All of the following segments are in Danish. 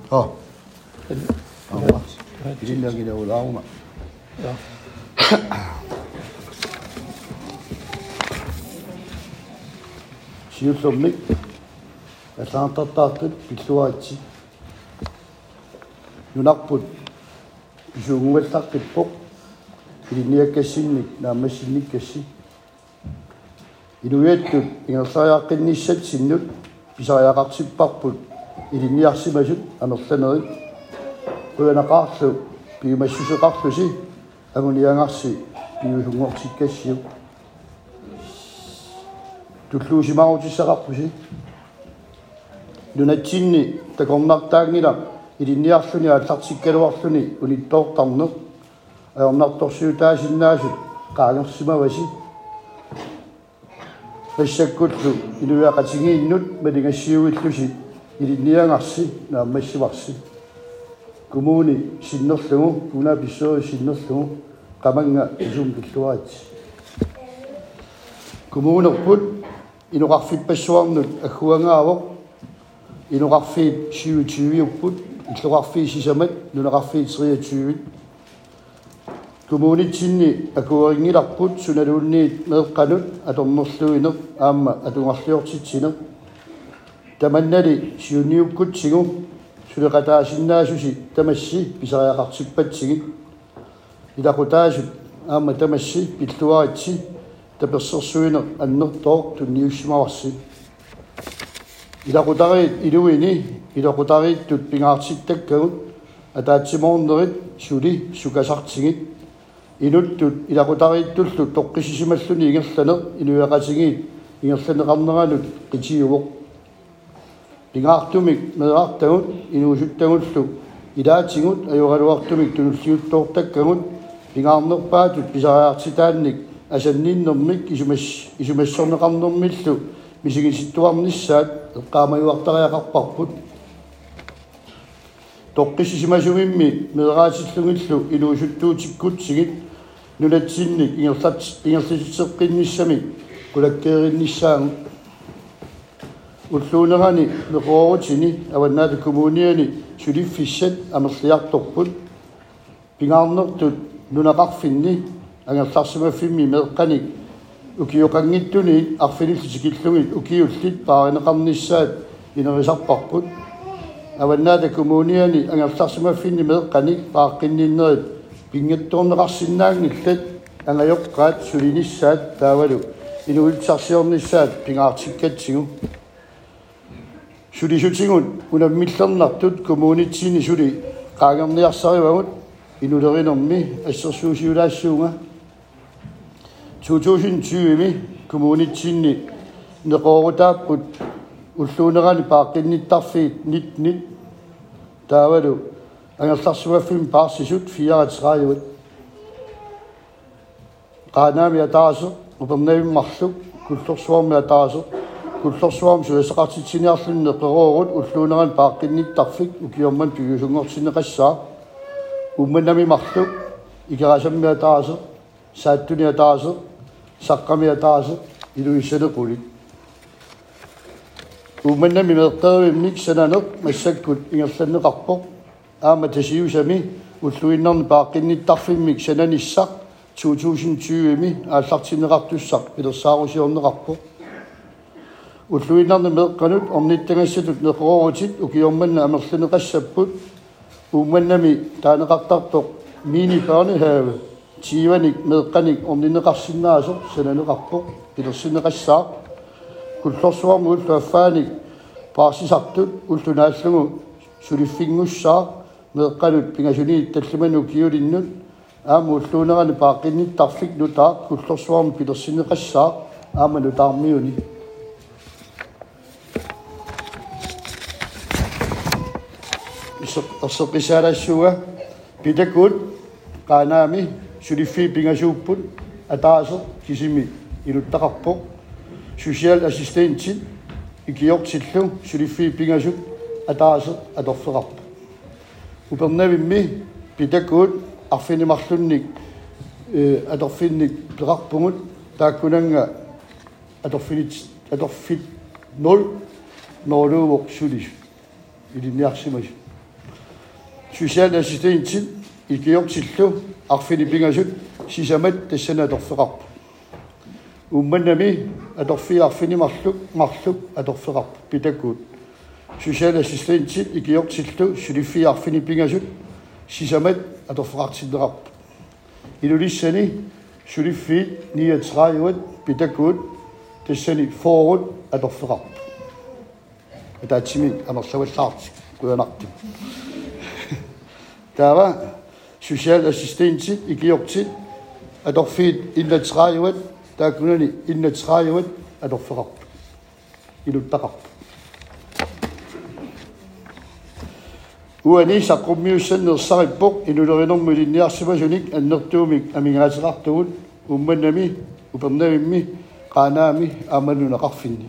Ilinnaagina ulaaruma. Siullummi аллаартартаартут пиллуаатси нунарпут исуунгуаллаққиппоқ илинниаккассинник наамассинниккасси илуяаттут ингерсариаққинниссат синнут писариақартиппарпут илинниарсимасут амерланерит уянақарлу пиумассусеқарлуси агуниангарси пиусунгортиккассиу туллуусимаарутиссақарпуси нунатсинни такорнартаагнила илинниарлуни ааллартиккалуарлуни униттоортарнеқ аернарторсиутаасиннаасут qaangersimavasi ассаккуллу илуяқатигииннут малингассиуиллуси илинниангарси нааммассиварси коммуни синнерлугу куна писсори синнерлугу qamanga isum pilluaat коммунерпут инуқарфиппассуарнут аггуангаавоқ инуқарфиит 27-уппут иллуқарфиисисамат нунеқарфиит 23 коммунитсинни акуарингиларпут суналуунниит меэққанут аторнерлуинеқ аама атунгарлиортитсинеқ таманнали сиуниуккутсигу сулеқатаасиннаасуси тамасси писариақартиппатсигит илақутаасут аама тамасси пиллуаритси таперсерсуинеқ аннертоо тунниуссимаварси илақутариит илуини илақутарииттут пингаартиттаккагут атаатсимоорнерит сули сукасартигит инуттут илақутарииттуллу тоққисисималлуни ингерланеқ илуяқатигиит ингерланеқарнеранут қитиувоқ пингаартумик меэартагут инуусуттагуллу илаатигут аюралуартумик тунуллиуттоортаккагут пингаарнерпаатут писариартитаанник асанниннэрмик исумассорнеқарнэрмиллу мисигиситтуарниссаат эққаамаюартариақарпарпут тоққисисимасугимми меэраатиллугиллу илуусуттуутиккутсигит нулатсинник ингерлиситсеққинниссами кулаккееринниссаангу уллуунерани меқоорутини аваннаата коммуниани сулиффиссат амерлиарторпут пингаарнертут нунақарфинни ангерларсимаффимми меэққаник укиоқангиттуни арфиниллутикиллугит укиуллит пааринеқарниссаат инерисарпарпут аваннаата коммуниани ангерларсимаффинни меэққаник пааққинниннерит пингатторнеқарсиннаангиллат ангайоққаат сулиниссаат таавалу инуилсарсиорниссаат пингаартиккатсигу сулисутигун унаммиллернартут коммунитсини сули qaangerniarsaривагут инулеринерми ассерсуусиулаассуунга 2020ми коммунитсинни неқоорутааппут уллуунерани пааққинниттарфиит нит таавалу ангерларсуаффим паарсисут 34 qaaнаами атаасо упернавиммарлук куллорсуарми атаасо куллорсуарми суясеқартитсиниарлунне қероорут уллуунерани пааққинниттарфик укиорман туйусунгортинеқассаа умманами марлук икерасамми атаасо сааттуни атаасо саққами атаасо илуиссанеқулит умманами меққеривимник сананеқ массаккут ингерланнеқарпоқ аама тасиусами уллуиннерни пааққинниттарфиммик сананиссақ 2020ми ааллартинеқартуссақ пилерсаарусиорнеқарпоқ уллуиннерни меққанут орниттангассатут неқоорутит укиорманна амерланеқассаппут умманнами таанеқартартоқ мини børnehave тиваник меққаник орнинеқарсиннаасо сананеқарпоқ пилерсинеқассаа куллорсуарму уллуаффааник паарсисартут уллунааллугу сулиффингуссаа меққанут пингасуниит таллуману киулиннут аама уллуунерани пааққинниттарфик нутаа куллорсуарму пилерсинеқассаа аама нутаармиуни орсеқисаалассуга питакут qaaнаами сулиффи пингасууппут атаасо кисими илуттақарпоқ social assistant икиортиллу сулиффи пингасут атаасо аторфеқарпу упернавимми питакут арфинимарлунник аторфинник пеқарпугут тааккунанга аторфит 0 нолуувоқ сулис илинниарсимас Socialassistentit ikiortillu arfinipingasut sisamat tassanatorfeqarpu. Ummanami atorfiarfinimarluk atorfeqarpu pitakkuut. Socialassistentit ikiortillu suliffiarfinipingasut sisamat atorfeqartilleqarpu. Ilulissani suliffiit 39 pitakkuut tassani forut atorfeqarpu. Ataatsimi amerlawallaartik kuanartik. Taava socialassistentit ikiortit atorfiit 31 taakunani 31 atorfeqarpu. Iluttaqarpu. Uani saqqummiussannersarippoq inulerinormu linniarsumasunik annertuumik amingaateqartugut ummannami upernavimmi qaanaami aamannunaqarfinni.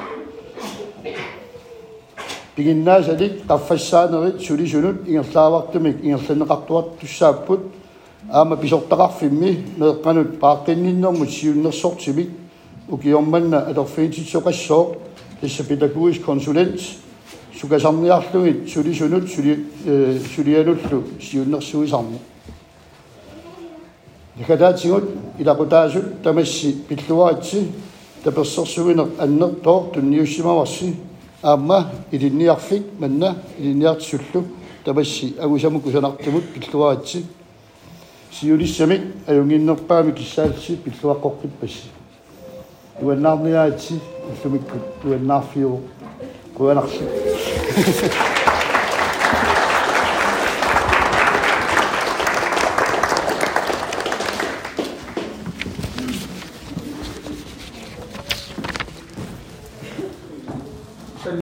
Piginnaasalik qaffassaaneri sulisunut ingerlaavartumik ingerlanneqartuart tussaapput aama pisortaqarfimmi meeqqanut paaqqinninnermut siunnersortimik ukiormanna atorfiintitsoqassooq tassa pædagogisk konsulent sukasarniarlugit sulisunut sulianullu siunnersuisarni. Nakataatingut ilaqutaasut tamassi pilluaritsi tapersersugineq annertoor tunniussimavarsi aamma ilinniarfik manna ilinniartissullu tamassi agusamukusanartumut pilluaritsi siulissamik ajunginnerpaami kissaalsi pilluaqqorqipassi uannaarniaatsi ullumikkut uannaarfiu kuanarsi